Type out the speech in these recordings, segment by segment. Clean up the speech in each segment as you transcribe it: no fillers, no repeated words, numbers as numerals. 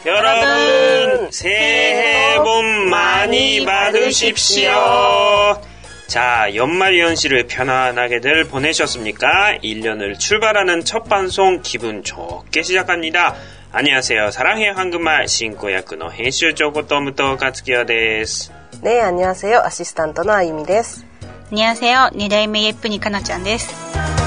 여러분 새해 복 많이 받으십시오. 자, 연말 연시를 편안하게들 보내셨습니까? 1년을 출발하는 첫 방송 기분 좋게 시작합니다. 안녕하세요. 사랑해요 한국말 신고야쿠의編集長こと武藤克樹です。 네, 안녕하세요. 아시스탄트のあゆみです。 안녕하세요. 2代目예쁜이かなちゃんです。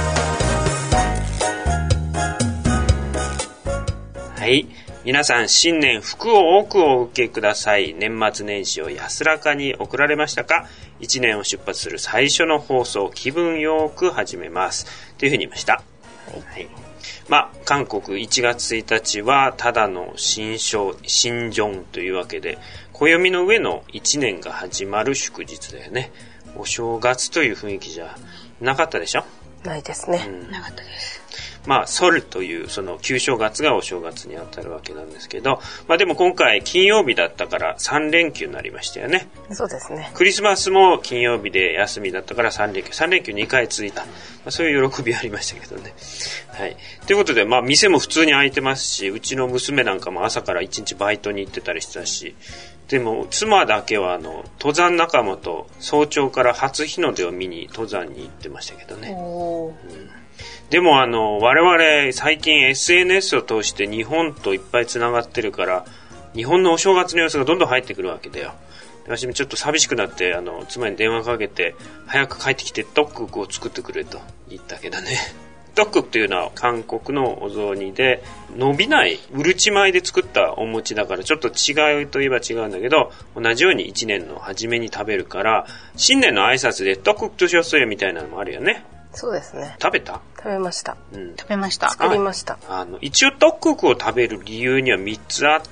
はい。皆さん新年福を多くお受けください。年末年始を安らかに送られましたか？一年を出発する最初の放送、気分よく始めますというふうに言いました。はい。韓国1月1日はただの新正というわけで、暦の上の1年が始まる祝日だよね。お正月という雰囲気じゃなかったでしょ？ ないですね。 なかったです。 ソルというその旧正月がお正月にあたるわけなんですけど、でも今回金曜日だったから3連休になりましたよね。 そうですね。 クリスマスも金曜日で休みだったから3連休2回続いた。そういう喜びありましたけどね。はい。ということで、店も普通に開いてますし、うちの娘なんかも朝から1日バイトに行ってたりしたし、でも妻だけは登山仲間と早朝から初日の出を見に登山に行ってましたけどね。でも我々最近 SNS を通して日本といっぱいつながってるから、日本のお正月の様子がどんどん入ってくるわけだよ。私もちょっと寂しくなって妻に電話かけて早く帰ってきてトッククを作ってくれと言ったけどね。トッククというのは韓国のお雑煮で、伸びないうるち米で作ったお餅だからちょっと違うといえば違うんだけど、同じように1年の初めに食べるから、新年の挨拶でトッククとしよそよみたいなのもあるよね。 そうですね。 食べた？ 食べました。 食べました。 作りました。 一応トッククを食べる理由には3つあって、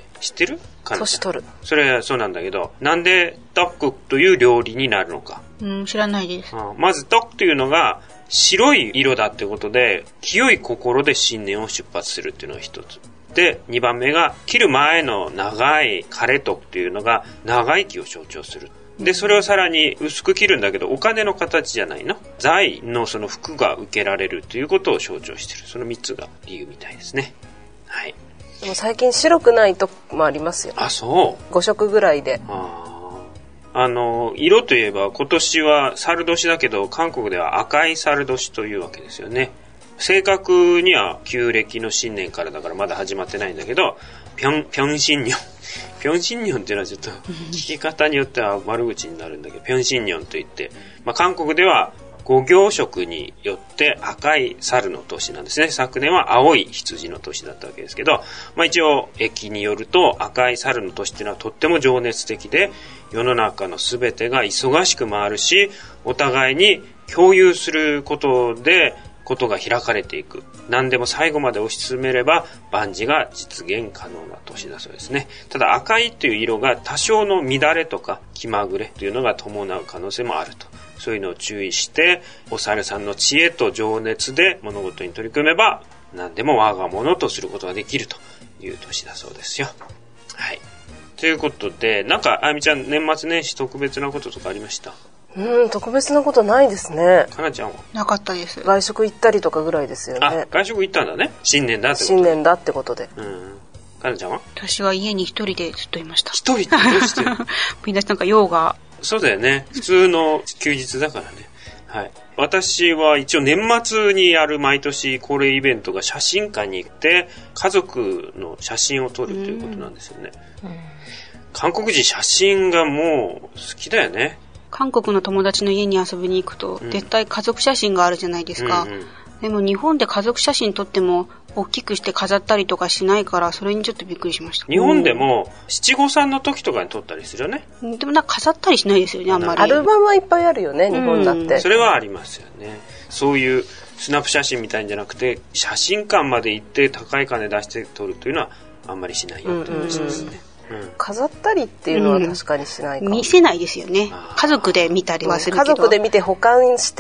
知ってる？ 年取る。 それはそうなんだけど、なんでトッククという料理になるのか。 知らないです。 まずトックというのが白い色だってことで、清い心で新年を出発するっていうのが一つ。で、2番目が切る前の長い枯れとっていうのが長生きを象徴する。で、それをさらに薄く切るんだけど、お金の形じゃないの。財のその服が受けられるということを象徴している。その3つが理由みたいですね。はい。 でも最近白くないともありますよ。 あ、そう。 5色ぐらいで。 色といえば今年は猿年だけど、韓国では赤い猿年というわけですよね。正確には旧暦の新年からだからまだ始まってないんだけど、ピョンシンニョンっていうのはちょっと聞き方によっては悪口になるんだけど、ピョンシンニョンといって、韓国では五行色によって赤い猿の年なんですね。昨年は青い羊の年だったわけですけど、一応暦によると赤い猿の年っていうのはとっても情熱的で、世の中のすべてが忙しく回るし、お互いに共有することでことが開かれていく。何でも最後まで推し進めれば万事が実現可能な年だそうですね。ただ赤いという色が多少の乱れとか気まぐれというのが伴う可能性もあると。そういうのを注意して、お猿さんの知恵と情熱で物事に取り組めば何でも我が物とすることができるという年だそうですよ。はい。ということで、あやみちゃん年末年始特別なこととかありました？ 特別なことないですね。 かなちゃんは？ なかったです。 外食行ったりとかぐらいですよね。 外食行ったんだね。新年だってこと。 新年だってことで。 かなちゃんは？ 私は家に一人でずっといました。 一人ってどうしてる？ みんなヨガ。 そうだよね。普通の休日だからね。はい。私は一応年末にやる毎年恒例イベントが写真館に行って家族の写真を撮るということなんですよね。韓国人写真がもう好きだよね。 韓国の友達の家に遊びに行くと、絶対家族写真があるじゃないですか。でも日本で家族写真撮っても大きくして飾ったりとかしないから、それにちょっとびっくりしました。 日本でも七五三の時とかに撮ったりするよね。 でも飾ったりしないですよね、あんまり。 アルバムはいっぱいあるよね、日本だって。 それはありますよね。そういうスナップ写真みたいんじゃなくて、写真館まで行って高い金出して撮るというのはあんまりしないよという話ですね。 飾ったりっていうのは確かにしないかも。 見せないですよね。家族で見たりはするけど。 家族で見て保管して、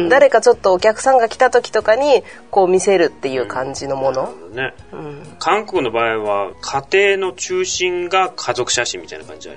誰かちょっとお客さんが来た時とかにこう見せるっていう感じのもの。韓国の場合は家庭の中心が家族写真みたいな感じあるよね。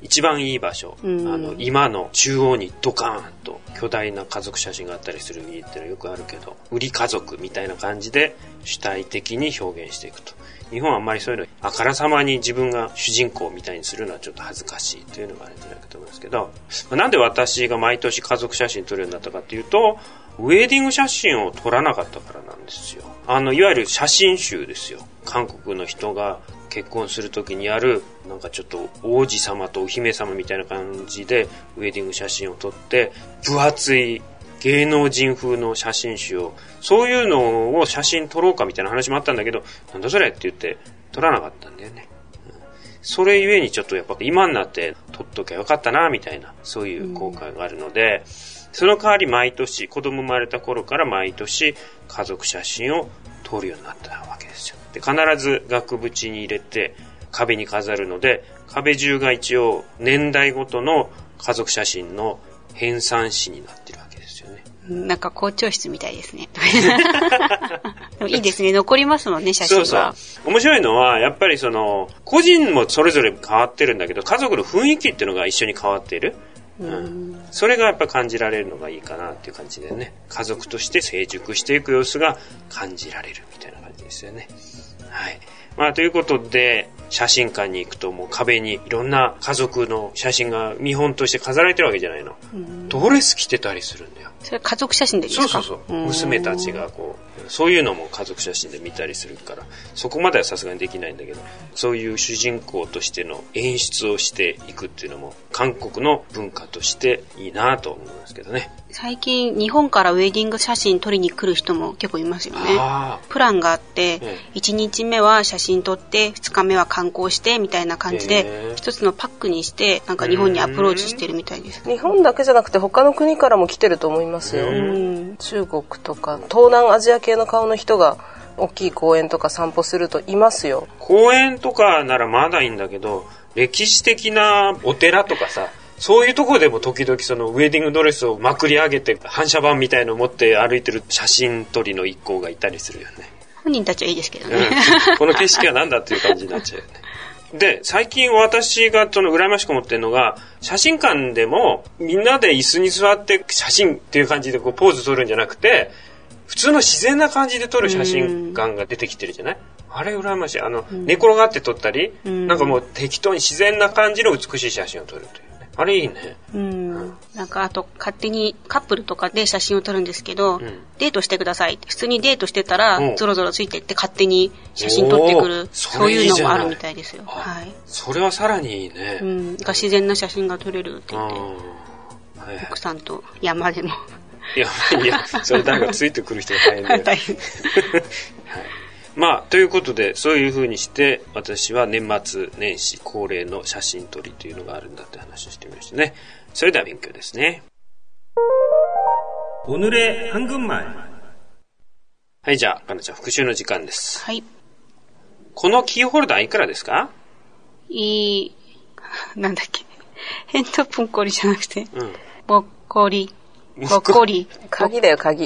一番いい場所、今の中央にドカーンと巨大な家族写真があったりする家ってのはよくあるけど、売り家族みたいな感じで主体的に表現していくと。日本はあんまりそういうのあからさまに自分が主人公みたいにするのはちょっと恥ずかしいというのがあるんじゃないかと思いますけど、なんで私が毎年家族写真撮るようになったかっていうと、ウェディング写真を撮らなかったからなんですよ。いわゆる写真集ですよ。韓国の人が結婚するときにやる、なんかちょっと王子様とお姫様みたいな感じでウェディング写真を撮って、分厚い芸能人風の写真集を、そういうのを写真撮ろうかみたいな話もあったんだけど、なんだそれって言って撮らなかったんだよね。それゆえにちょっとやっぱ今になって撮っときゃよかったなみたいな、そういう後悔があるので、その代わり毎年、子供生まれた頃から毎年家族写真を撮るようになったわけですよ。で、必ず額縁に入れて壁に飾るので、壁中が一応年代ごとの家族写真の編纂誌になってるわけですよね。 なんか校長室みたいですね。でもいいですね。残りますもんね、写真は。 そうそう。面白いのは、やっぱり個人もそれぞれ変わってるんだけど、家族の雰囲気っていうのが一緒に変わっている。それがやっぱ感じられるのがいいかなっていう感じでね、家族として成熟していく様子が感じられるみたいな感じですよね。はい。まあということで、写真館に行くともう壁にいろんな家族の写真が見本として飾られてるわけじゃないの。ドレス着てたりするんだよ。 それ家族写真でですか？ そう娘たちがそういうのも家族写真で見たりするから、そこまではさすがにできないんだけど、そういう主人公としての演出をしていくっていうのも韓国の文化としていいなと思いますけどね。 最近日本からウェディング写真撮りに来る人も結構いますよね。プランがあって、1日目は写真撮って2日目は観光してみたいな感じで、一つのパックにしてなんか日本にアプローチしてるみたいです。 日本だけじゃなくて他の国からも来てると思いますよ。中国とか東南アジア系の顔の人が大きい公園とか散歩するといますよ。 公園とかならまだいいんだけど、歴史的なお寺とかさ、そういうところでも時々そのウェディングドレスをまくり上げて反射板みたいのを持って歩いてる写真撮りの一行がいたりするよね。 本人たちはいいですけどね。 この景色は何だっていう感じになっちゃうよね。で、最近私が羨ましく思ってるのが、写真館でもみんなで椅子に座って写真っていう感じでポーズ撮るんじゃなくて、普通の自然な感じで撮る写真館が出てきてるじゃない？あれ羨ましい。寝転がって撮ったり、なんかもう適当に自然な感じの美しい写真を撮るという。あれいいね。 なんかあと勝手にカップルとかで写真を撮るんですけど、デートしてくださいって普通にデートしてたらゾロゾロついてって勝手に写真撮ってくる、そういうのもあるみたいですよ。はい。 それはさらにいいね。 自然な写真が撮れるって言って、奥さんと山でも。 いやそれ誰かついてくる人が大変だよ。大変。はい。まあということで、そういう風にして私は年末年始恒例の写真撮りというのがあるんだって話をしてみましたね。それでは勉強ですね。오늘의 한국말。はい、じゃあかなちゃん復習の時間です。 はい。 このキーホルダーいくらですか？ なんだっけ、ヘンドプンコリじゃなくて、ぼっこり。 鍵だよ、鍵。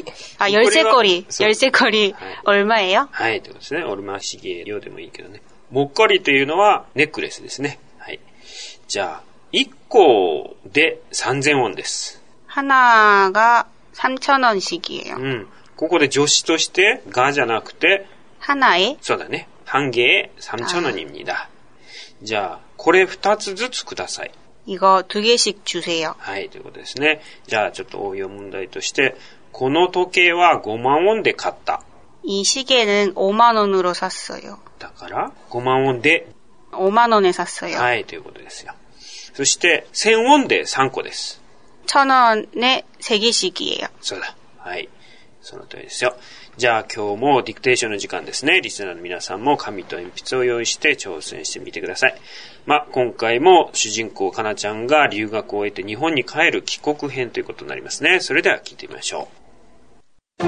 열쇠고리 얼마예요? はい、ということですね。얼마씩이에요でもいいけどね。もっこりというのはネックレスですね。はい。じゃあ、1個で3000ウォンです。 하나가 3,000원씩이에요. ここで助詞としてがじゃなくて、 하나에? そうだね。한 개에 3,000원입니다. じゃあ、これ2つずつください。 이거 2개씩 주세요. はい、ということですね。じゃあちょっと応用問題として、この時計は5万ウォンで買った。 이 시계는 5만 원으로 샀어요. だから5万ウォンで 5만 원에 샀어요. はい、ということですよ。そして1000ウォンで3個です。 1,000원에 3개씩이에요. そうだ。はい。その通りですよ。じゃあ今日もディクテーションの時間ですね。リスナーの皆さんも紙と鉛筆を用意して挑戦してみてください。今回も主人公かなちゃんが留学を終えて日本に帰る帰国編ということになりますね。それでは聞いてみましょう。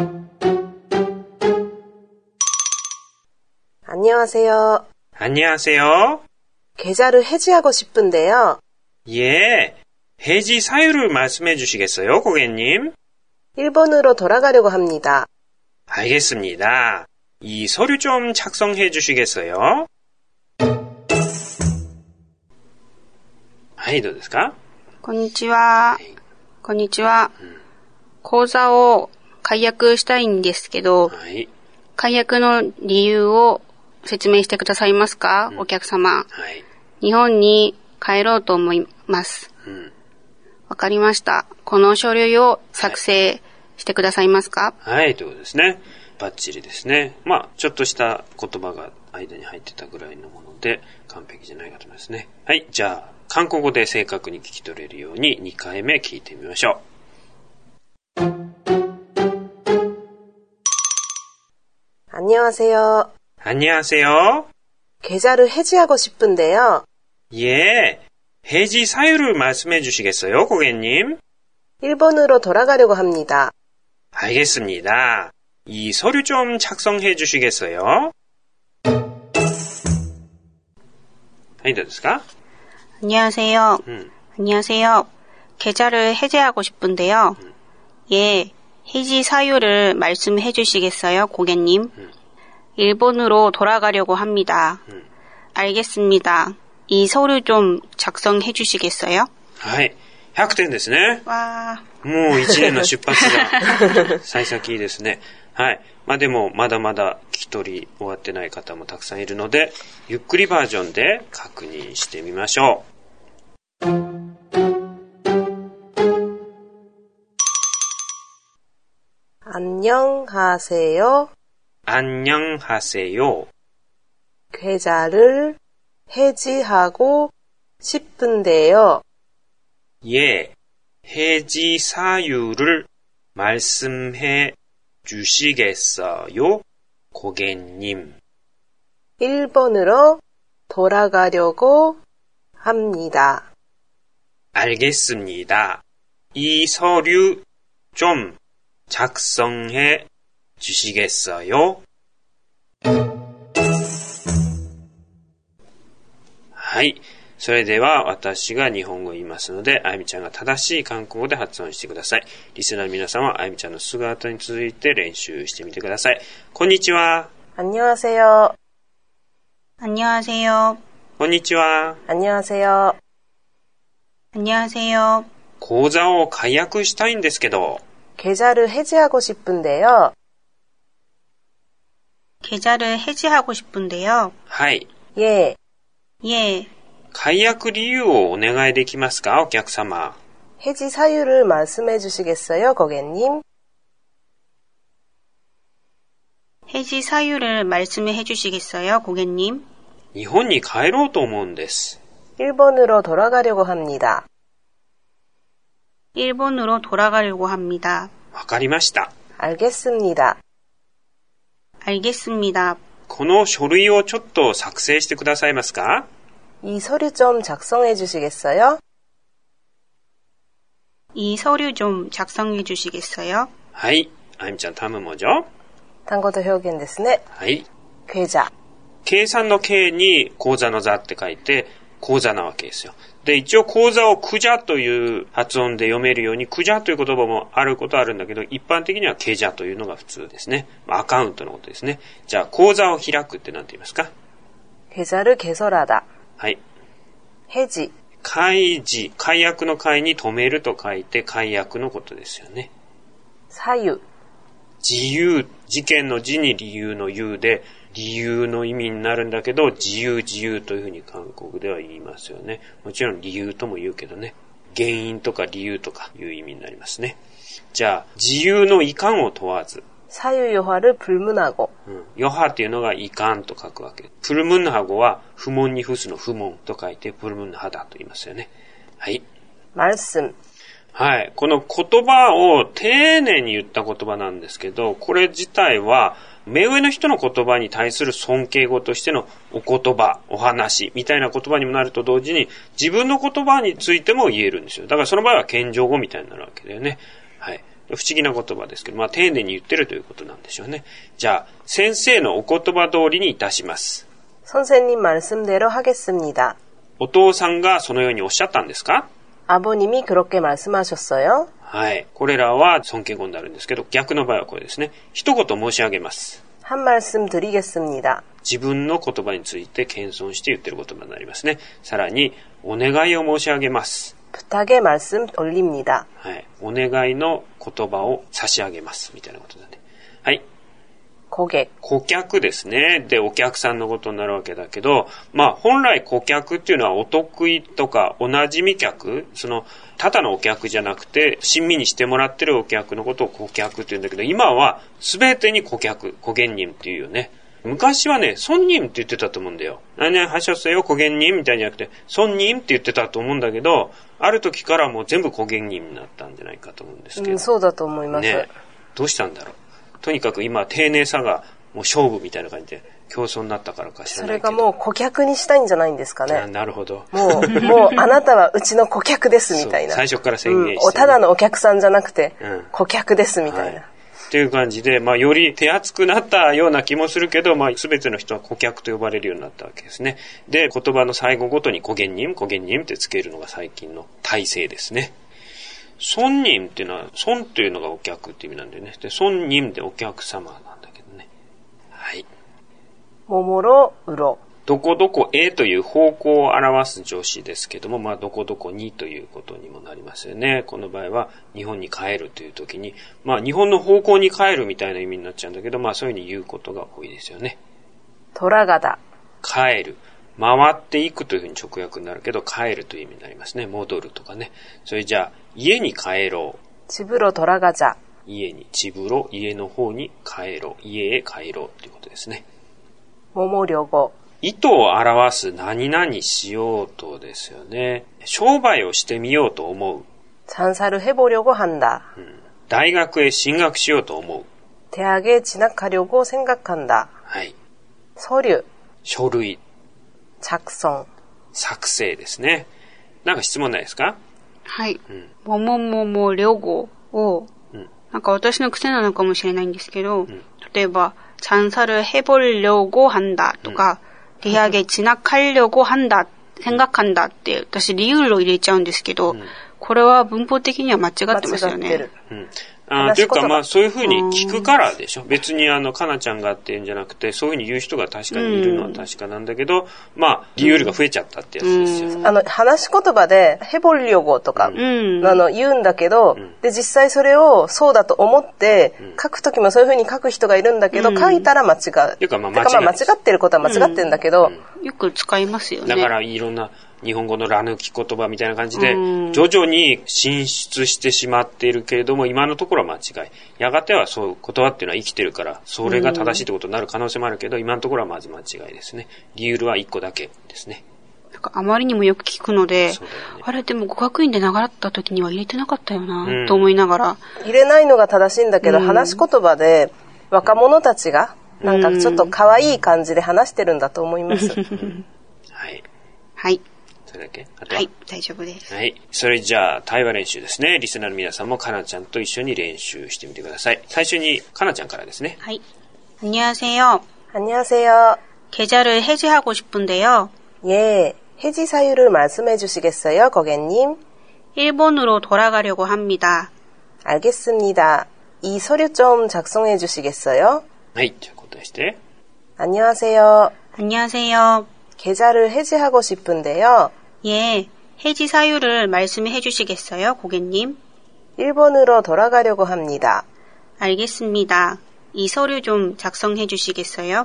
안녕하세요. 안녕하세요. 계좌를 해지하고 싶은데요. 예. 해지 사유를 말씀해 주시겠어요, 고객님? 일본으로 돌아가려고 합니다. 알겠습니다. 이 서류 좀 작성해 주시겠어요? ははい、どうですか？ こんにちは。はい、こんにちは。口座を解約したいんですけど、はい、解約の理由を説明してくださいますか、お客様。はい、日本に帰ろうと思います。わかりました。この書類を作成してくださいますか？ はい、ということですね。バッチリですね。ちょっとした言葉が間に入ってたぐらいのもので完璧じゃないかと思いますね。はい、じゃあ韓国語で正確に聞き取れるように2回目聞いてみましょう。 안녕하세요. 안녕하세요. 계좌를 해지하고 싶은데요. 예, 해지 사유를 말씀해 주시겠어요, 고객님? 일본으로 돌아가려고 합니다. 알겠습니다. 이 서류 좀 작성해 주시겠어요? はい、どうですか？ 안녕하세요. 안녕하세요. 계좌를 해지하고 싶은데요. 예, 해지 사유를 말씀해 주시겠어요, 고객님? 일본으로 돌아가려고 합니다. 알겠습니다. 이 서류 좀 작성해 주시겠어요? はい、100点ですね。 わー。 もう1年の出発が幸先いいですね。はい。でもまだまだ聞き取り終わってない方もたくさんいるので、ゆっくりバージョンで確認してみましょう。 안녕하세요. 안녕하세요. 계좌를 해지하고 싶은데요. 예, 해지 사유를 말씀해 주시겠어요, 고객님? 일본으로 돌아가려고 합니다. 알겠습니다. 이 서류 좀 작성해 주시겠어요? はい。それでは私が日本語を言いますので、あゆみちゃんが正しい韓国語で発音してください。リスナーの皆さんはあゆみちゃんのすぐ後に続いて練習してみてください。こんにちは。 안녕하세요. 안녕하세요. こんにちは。 안녕하세요. 안녕하세요. 口座を解約したいんですけど。 계좌를 해지하고 싶은데요. 계좌를 해지하고 싶은데요. はい。 예. 예. 解約理由をお願いできますか、お客様。 해지 사유를 말씀해 주시겠어요, 고객님? 해지 사유를 말씀해 주시겠어요, 고객님? 日本に帰ろうと思うんです。 일본으로 돌아가려고 합니다. 일본으로 돌아가려고 합니다. わかりました。 알겠습니다. 알겠습니다. この書類をちょっと作成してくださいますか？ 이 서류 좀 작성해 주시겠어요? 이 서류 좀 작성해 주시겠어요? はい。あゆみちゃん、頼むもじょ。 単語と表現ですね。 はい。 계좌。 計算の計に口座の座って書いて、口座なわけですよ。で、一応口座をクジャという発音で読めるように、クジャという言葉もあることはあるんだけど、一般的にはケジャというのが普通ですね。アカウントのことですね。じゃあ、口座を開くって何て言いますか？ 계좌를 개설하다。 はい。 해지。 開示、解約の解に止めると書いて解約のことですよね。 사유。 自由、事件の字に理由の由で、理由の意味になるんだけど、自由というふうに韓国では言いますよね。もちろん理由とも言うけどね。原因とか理由とかいう意味になりますね。じゃあ、自由のいかんを問わず。 사유요하를 불문하고。 ヨハっていうのがいかんと書くわけ。プルムンハ語は不問に付すの不問と書いてプルムンハだと言いますよね。はい。 말씀。 はい。この言葉を丁寧に言った言葉なんですけど、これ自体は目上の人の言葉に対する尊敬語としてのお言葉、お話みたいな言葉にもなると同時に自分の言葉についても言えるんですよ。だからその場合は謙譲語みたいになるわけだよね。はい。不思議な言葉ですけど、丁寧に言ってるということなんでしょうね。じゃあ、先生のお言葉通りにいたします。 선생님 말씀대로 하겠습니다。 お父さんがそのようにおっしゃったんですか？ 아버님이 그렇게 말씀하셨어요？ はい。これらは尊敬語になるんですけど、逆の場合はこれですね。一言申し上げます。 한 말씀 드리겠습니다。 自分の言葉について謙遜して言ってる言葉になりますね。さらに、お願いを申し上げます。 부탁의 말씀 올립니다. はい。お願いの言葉を差し上げます。みたいなことだね。はい。 고객。 顧客ですね。で、お客さんのことになるわけだけど、本来顧客っていうのはお得意とかおなじみ客、ただのお客じゃなくて、親身にしてもらってるお客のことを顧客って言うんだけど、今は全てに顧客、고객님っていうよね。昔はね、손님って言ってたと思うんだよ。何々하셨어요、고객님みたいじゃなくて、손님って言ってたと思うんだけど、ある時からもう全部고객님になったんじゃないかと思うんですけど。 そうだと思います。 ね。どうしたんだろう。とにかく今、丁寧さがもう勝負みたいな感じで競争になったからか知らないけど。 それがもう顧客にしたいんじゃないんですかね。 なるほど。 もうあなたはうちの顧客ですみたいな。 最初から宣言して、ね。 ただのお客さんじゃなくて、顧客ですみたいな。 っていう感じで、より手厚くなったような気もするけど、全ての人は顧客と呼ばれるようになったわけですね。で、言葉の最後ごとに고객님ってつけるのが最近の体制ですね。손님っていうのは、손っていうのがお客って意味なんだよね。で、손님でお客様なんだけどね。はい。 桃ろうろ。 どこどこへという方向を表す助詞ですけども、どこどこにということにもなりますよね。この場合は日本に帰るという時に、日本の方向に帰るみたいな意味になっちゃうんだけど、そういうふうに言うことが多いですよね。 돌아가다。 帰る。回っていくというふうに直訳になるけど、帰るという意味になりますね。戻るとかね。それじゃあ、家に帰ろう。 집으로 돌아가자。 家に、집으로、家の方に帰ろう。家へ帰ろうということですね。 뭐뭐려고。 意図を表す何々しようとですよね。商売をしてみようと思う。 장사를 해보려고 한다。 大学へ進学しようと思う。 대학에 진학하려고 생각한다。 はい。 서류。 書類。 작성。 作成ですね。なんか質問ないですか？ はい。뭐뭐뭐뭐려고を、なんか私の癖なのかもしれないんですけど、例えば、장사를 해보려고 한다とか、대학에 진학하려고 한다, 생각한다って私理由を入れちゃうんですけど、これは文法的には間違ってますよね。 というかそういうふうに聞くからでしょ。別にかなちゃんがっていうんじゃなくて、そういうふうに言う人が確かにいるのは確かなんだけど、理由が増えちゃったってやつですよ。 話し言葉で해보려고とか、言うんだけど、で実際それをそうだと思って書くときもそういうふうに書く人がいるんだけど、書いたら間違う。 というか間違ってることは間違ってるんだけど、 よく使いますよね。 だからいろんな日本語のら抜き言葉みたいな感じで、徐々に進出してしまっているけれども、今のところは間違い。やがてはそういう言葉っていうのは生きてるから、それが正しいってことになる可能性もあるけど、今のところはまず間違いですね。理由は1個だけですね。 なんかあまりにもよく聞くので、あれでも語学院で習った時には入れてなかったよな、と思いながら。 入れないのが正しいんだけど、話し言葉で若者たちが、なんかちょっと可愛い感じで話してるんだと思います。 はい。 はい。 それだけ？あとは？ はい、大丈夫です。 はい。それじゃあ、対話練習ですね。リスナーの皆さんもかなちゃんと一緒に練習してみてください。最初にかなちゃんからですね。 はい。안녕하세요。 안녕하세요。 계좌를 해지하고 싶은데요. 예, 해지 사유를 말씀해 주시겠어요, 고객님? 일본으로 돌아가려고 합니다. 알겠습니다. 이 서류 좀 작성해 주시겠어요? はい、じゃあ答えして。 안녕하세요. 안녕하세요. 계좌를 해지하고 싶은데요. 예, 해지 사유를 말씀해 주시겠어요, 고객님? 일본으로 돌아가려고 합니다. 알겠습니다. 이 서류 좀 작성해 주시겠어요?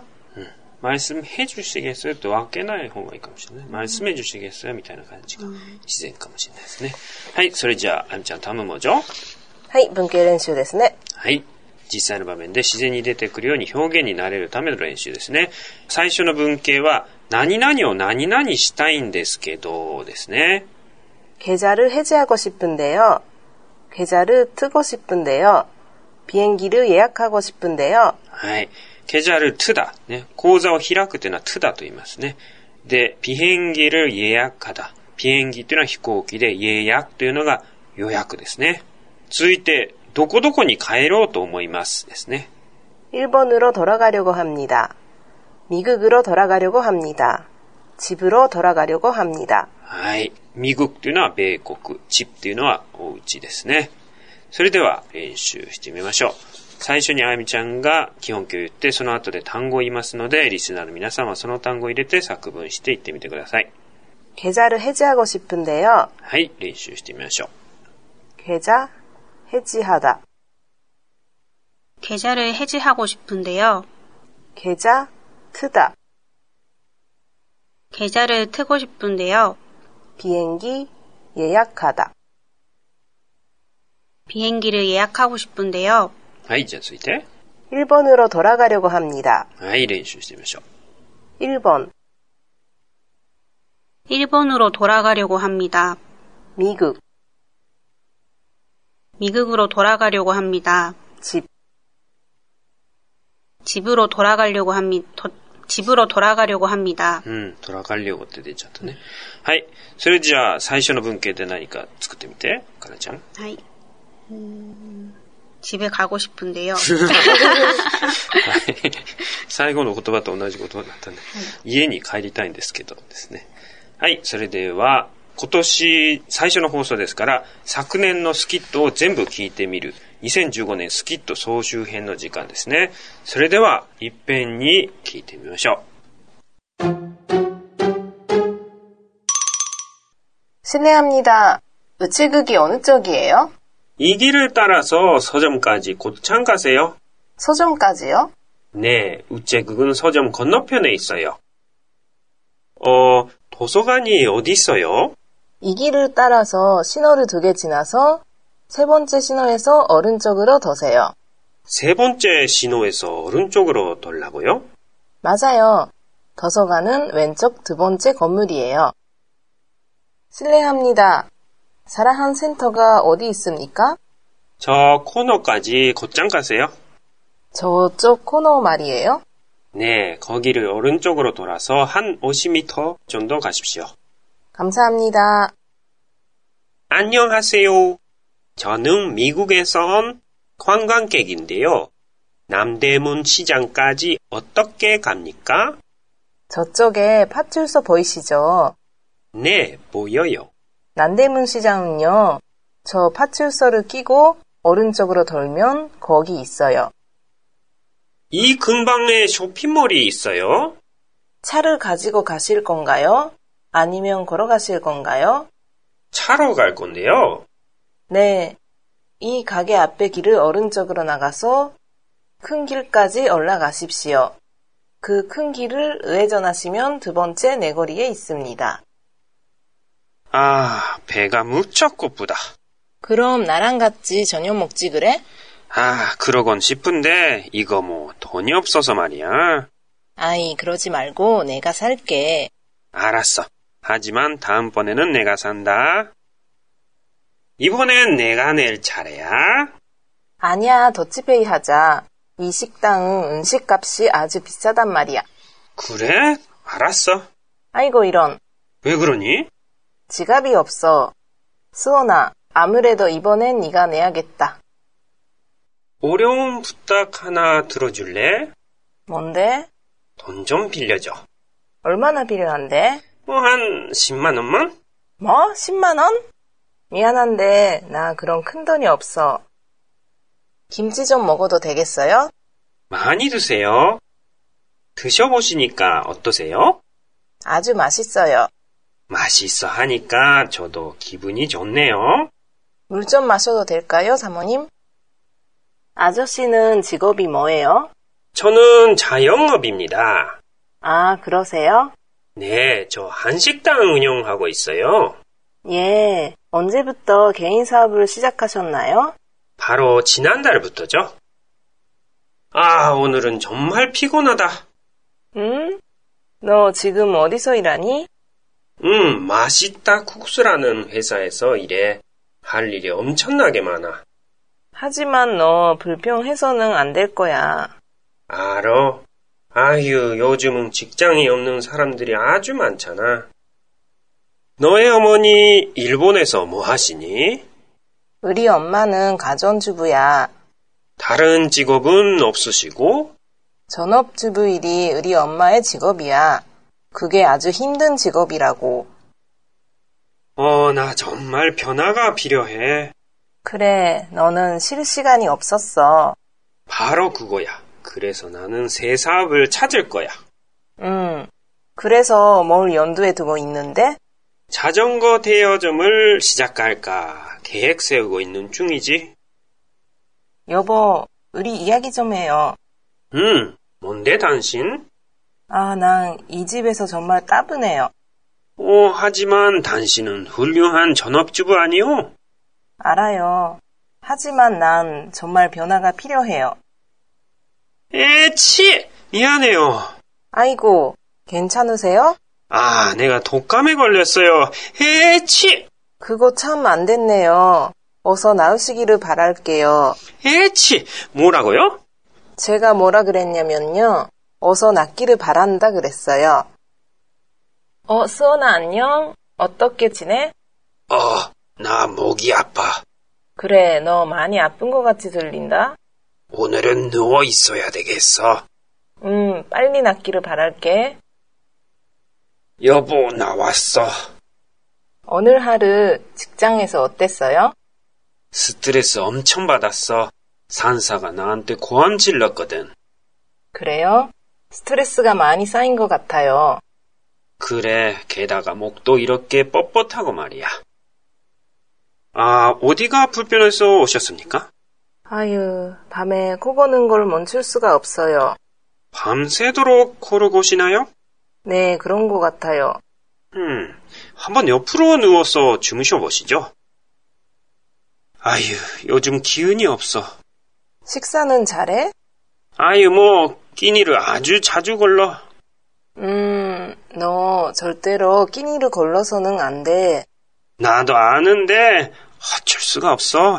말씀해 주시겠어요? 또分けない方がいいかもしれない。말씀해 주시겠어요? みたいな感じが自然かもしれないですね。はい、それじゃあ、あみちゃん、タムモジョ。 はい、文系練習ですね。 はい。実際の場面で自然に出てくるように表現になれるための練習ですね。最初の文系は、何々を何々したいんですけどですね。 계좌를 해지하고 싶은데요. 계좌를 트고 싶은데요. 비행기를 예약하고 싶은데요. はい。계좌를 트다。ね。口座を開くというのは트다と言いますね。で、비행기를 예약하다。ビエンギというのは飛行機で、예약というのが予約ですね。続いて、どこどこに帰ろうと思いますですね。 일본으로 돌아가려고 합니다. 미국으로 돌아가려고 합니다. 집으로 돌아가려고 합니다. はい。ミグというのは米国、チップというのはお家ですね。それでは練習してみましょう。 最初にあやみちゃんが基本形を言って、その後で単語を言いますので、リスナーの皆さんはその単語を入れて作文して言ってみてください。 계좌를 해지하고 싶은데요. はい、練習してみましょう。 계좌 해지하다. 계좌를 해지하고 싶은데요. 계좌 트다. 계좌를 트고 싶은데요. 비행기 예약하다. 비행기를 예약하고 싶은데요. はい、じゃあ続いて。 일본으로 돌아가려고 합니다. はい、練習してみましょう。 일본. 일본으로 돌아가려고 합니다. 미국. 미국으로 돌아가려고 합니다. 집. 집으로 돌아가려고 합니다. 집으로 돌아가려고 합니다. トラカリオって出ちゃったね。はい。それじゃあ、最初の文型で何か作ってみて、かなちゃん。 はい。집에 가고 싶은데요. 最後の言葉と同じ言葉だったね。家に帰りたいんですけどですね。はい。それでは、今年最初の放送ですから、昨年のスキットを全部聞いてみる。2015年スキット総集編の時間ですね。それでは、いっぺんに聞いてみましょう。 실례합니다. 우체국이 어느 쪽이에요? 이 길을 따라서 서점까지 곧장 가세요. 서점까지요? 네, 우체국은 서점 건너편에 있어요. 도서관이 어디 있어요? 이 길을 따라서 신호를 2개 지나서 세 번째 신호에서 오른쪽으로 도세요. 세 번째 신호에서 오른쪽으로 돌라고요? 맞아요. 도서관은 왼쪽 2번째 건물이에요. 실례합니다. 사라한 센터가 어디 있습니까? 저 코너까지 곧장 가세요. 저쪽 코너 말이에요? 네, 거기를 오른쪽으로 돌아서 한 50m 정도 가십시오. 감사합니다. 안녕하세요. 저는 미국에서 온 관광객인데요. 남대문 시장까지 어떻게 갑니까? 저쪽에 파출소 보이시죠? 네, 보여요. 남대문 시장은요. 저 파출소를 끼고 오른쪽으로 돌면 거기 있어요. 이 근방에 쇼핑몰이 있어요? 차를 가지고 가실 건가요? 아니면 걸어가실 건가요? 차로 갈 건데요. 네. 이 가게 앞에 길을 오른쪽으로 나가서 큰 길까지 올라가십시오. 그 큰 길을 우회전하시면 2번째 내거리에 있습니다. 아, 배가 무척 고프다. 그럼 나랑 같이 저녁 먹지 그래? 아, 그러곤 싶은데 이거 뭐 돈이 없어서 말이야. 아이, 그러지 말고 내가 살게. 알았어. 하지만 다음번에는 내가 산다. 이번엔 내가 낼 차례야. 아니야, 더치페이 하자. 이 식당은 음식값이 아주 비싸단 말이야. 그래? 알았어. 아이고 이런. 왜 그러니? 지갑이 없어. 수원아, 아무래도 이번엔 네가 내야겠다. 어려운 부탁 하나 들어줄래? 뭔데? 돈 좀 빌려줘. 얼마나 필요한데? 뭐 한 10만 원만? 뭐? 10만 원? 미안한데 나 그런 큰 돈이 없어. 김치 좀 먹어도 되겠어요? 많이 드세요. 드셔보시니까 어떠세요? 아주 맛있어요. 맛있어 하니까 저도 기분이 좋네요. 물 좀 마셔도 될까요, 사모님? 아저씨는 직업이 뭐예요? 저는 자영업입니다. 아, 그러세요? 네, 저 한식당 운영하고 있어요. 예, 언제부터 개인 사업을 시작하셨나요? 바로 지난달부터죠. 아, 오늘은 정말 피곤하다. 응? 너 지금 어디서 일하니? 맛있다 국수라는 회사에서 일해. 할 일이 엄청나게 많아. 하지만 너 불평해서는 안 될 거야. 알어. 아휴, 요즘은 직장이 없는 사람들이 아주 많잖아. 너의 어머니 일본에서 뭐 하시니? 우리 엄마는 가전주부야. 다른 직업은 없으시고? 전업주부 일이 우리 엄마의 직업이야. 그게 아주 힘든 직업이라고. 나 정말 변화가 필요해. 그래, 너는 쉴 시간이 없었어. 바로 그거야. 그래서 나는 새 사업을 찾을 거야. 그래서 뭘 염두에 두고 있는데? 자전거 대여점을 시작할까 계획 세우고 있는 중이지. 여보, 우리 이야기 좀 해요. 뭔데 당신? 난 이 집에서 정말 따분해요. 하지만 당신은 훌륭한 전업주부 아니오? 알아요. 하지만 난 정말 변화가 필요해요. 에치! 미안해요. 아이고, 괜찮으세요? 내가 독감에 걸렸어요. 에치! 그거 참 안 됐네요. 어서 나으시기를 바랄게요. 에치! 뭐라고요? 제가 뭐라 그랬냐면요. 어서 낫기를 바란다 그랬어요. 수원아 안녕? 어떻게 지내? 나 목이 아파. 그래, 너 많이 아픈 것 같이 들린다? 오늘은 누워 있어야 되겠어. 빨리 낫기를 바랄게. 여보, 나왔어. 오늘 하루 직장에서 어땠어요? 스트레스 엄청 받았어. 상사가 나한테 고함 질렀거든. 그래요? 스트레스가 많이 쌓인 것 같아요. 그래, 게다가 목도 이렇게 뻣뻣하고 말이야. 어디가 불편해서 오셨습니까? 아유, 밤에 코 고는 걸 멈출 수가 없어요. 밤새도록 코를 고시나요? 네, 그런 것 같아요. 한번 옆으로 누워서 주무셔 보시죠. 요즘 기운이 없어. 식사는 잘해? 끼니를 아주 자주 걸러. 너 절대로 끼니를 걸러서는 안 돼. 나도 아는데 어쩔 수가 없어.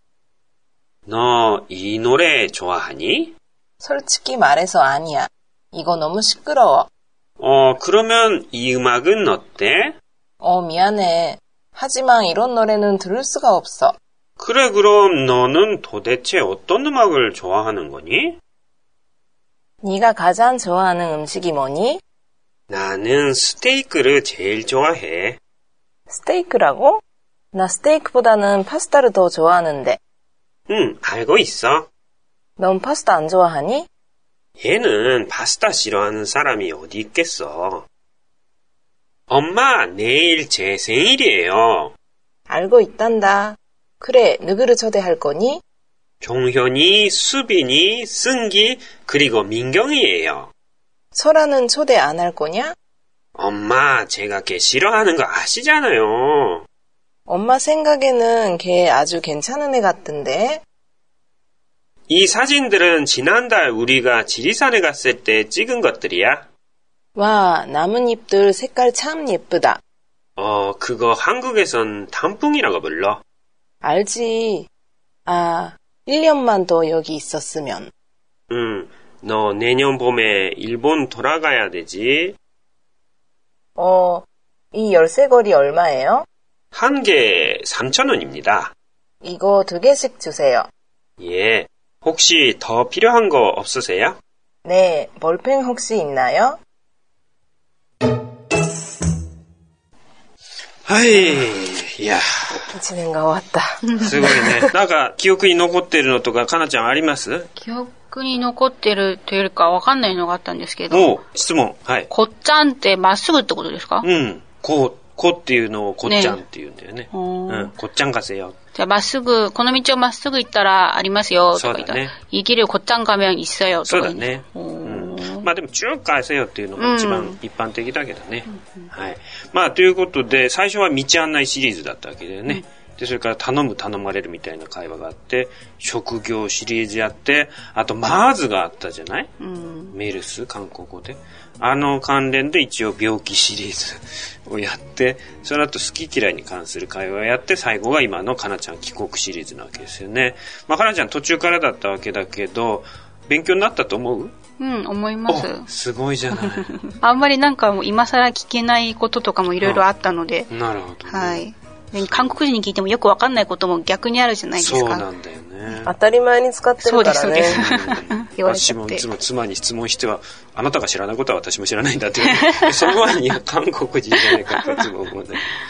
너 이 노래 좋아하니? 솔직히 말해서 아니야. 이거 너무 시끄러워. 그러면 이 음악은 어때? 미안해. 하지만 이런 노래는 들을 수가 없어. 그래, 그럼 너는 도대체 어떤 음악을 좋아하는 거니? 네가 가장 좋아하는 음식이 뭐니? 나는 스테이크를 제일 좋아해. 스테이크라고? 나 스테이크보다는 파스타를 더 좋아하는데. 알고 있어. 넌 파스타 안 좋아하니? 얘는 파스타 싫어하는 사람이 어디 있겠어. 엄마, 내일 제 생일이에요. 알고 있단다. 그래, 누구를 초대할 거니? 종현이, 수빈이, 승기, 그리고 민경이에요. 설아는 초대 안 할 거냐? 엄마, 제가 걔 싫어하는 거 아시잖아요. 엄마 생각에는 걔 아주 괜찮은 애 같던데. 이 사진들은 지난달 우리가 지리산에 갔을 때 찍은 것들이야. 와, 나뭇잎들 색깔 참 예쁘다. 그거 한국에선 단풍이라고 불러. 알지. 1년만 더 여기 있었으면. 너 내년 봄에 일본 돌아가야 되지. 이 열쇠고리 얼마예요? 한 개 3,000원입니다. 이거 2개씩 주세요. 예. 혹시 더 필요한 거 없으세요? 네, 볼펜 혹시 있나요? いや。 1年が終わった。 すごいね。なんか、記憶に残ってるのとか、かなちゃんあります？ 記憶に残ってるというよりかわかんないのがあったんですけど。 質問。はい。 こっちゃんってまっすぐってことですか？ こっていうのをこっちゃんって言うんだよね。こっちゃん가세요。 じゃあまっすぐ、この道をまっすぐ行ったらありますよ、とか言ったら。이 길을 곧장 가면 있어요、とか。 そうだね。でも中가세요っていうのが一番一般的だけどね。はい。ということで、最初は道案内シリーズだったわけだよね。で、それから頼まれるみたいな会話があって、職業シリーズやって、あとマーズがあったじゃない？メルス、韓国語で。関連で一応病気シリーズをやって、その後好き嫌いに関する会話をやって、最後が今のかなちゃん帰国シリーズなわけですよね。かなちゃん途中からだったわけだけど、勉強になったと思う？ 思います。 すごいじゃない。 あんまりなんか今更聞けないこととかもいろいろあったので。 なるほど、ね。 はい。韓国人に聞いてもよくわかんないことも逆にあるじゃないですか。 そうなんだよね。 当たり前に使ってるからね。 そうです。 私もいつも妻に質問しては、あなたが知らないことは私も知らないんだって言う。その前に韓国人じゃないかっていつも思うんだけど。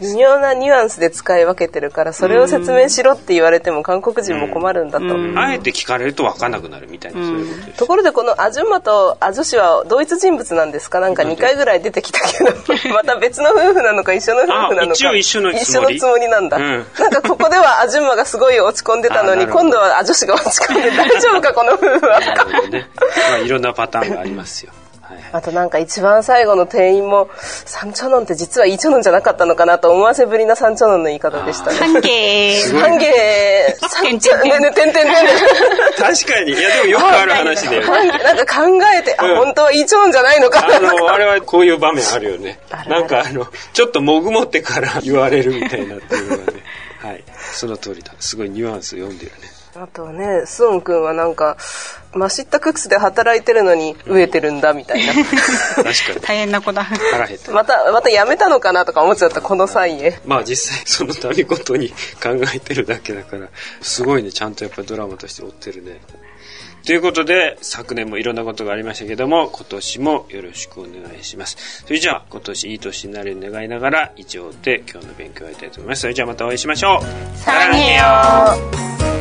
微妙なニュアンスで使い分けてるから、それを説明しろって言われても韓国人も困るんだと。 あえて聞かれると分かんなくなるみたいな、そういうことです。 ところでこのアジュンマとアジョシは同一人物なんですか？なんか2回ぐらい出てきたけど、また別の夫婦なのか一緒の夫婦なのか。 一応一緒のつもりなんだ。なんかここではアジュンマがすごい落ち込んでたのに、今度はアジョシが落ち込んで大丈夫かこの夫婦は。 なるほどね。いろんなパターンがありますよ。 あとなんか一番最後の店員もサンチョノンって実はイチョノンじゃなかったのかなと思わせぶりなサンチョノンの言い方でしたね。 ハンゲーハンゲーサンチョノンねてんてんてん。 確かに。いやでもよくある話で。 なんか考えて、本当はイチョノンじゃないのか。 あれはこういう場面あるよね。なんかちょっともぐもってから言われるみたいなっていうのがね。はい。その通りだ。すごいニュアンス読んでるね。 あとね、スオン君はなんかマシッタクックスで働いてるのに飢えてるんだみたいな。確かに大変な子だ。 腹減った。 また辞めたのかなとか思っちゃったこの際へ。 まあ実際その旅ごとに考えてるだけだからすごいね、ちゃんとやっぱりドラマとして追ってるね。ということで昨年もいろんなことがありましたけども、今年もよろしくお願いします。それじゃあ今年いい年になるように願いながら以上で今日の勉強を終えたいと思います。それじゃあまたお会いしましょう。 さらによ。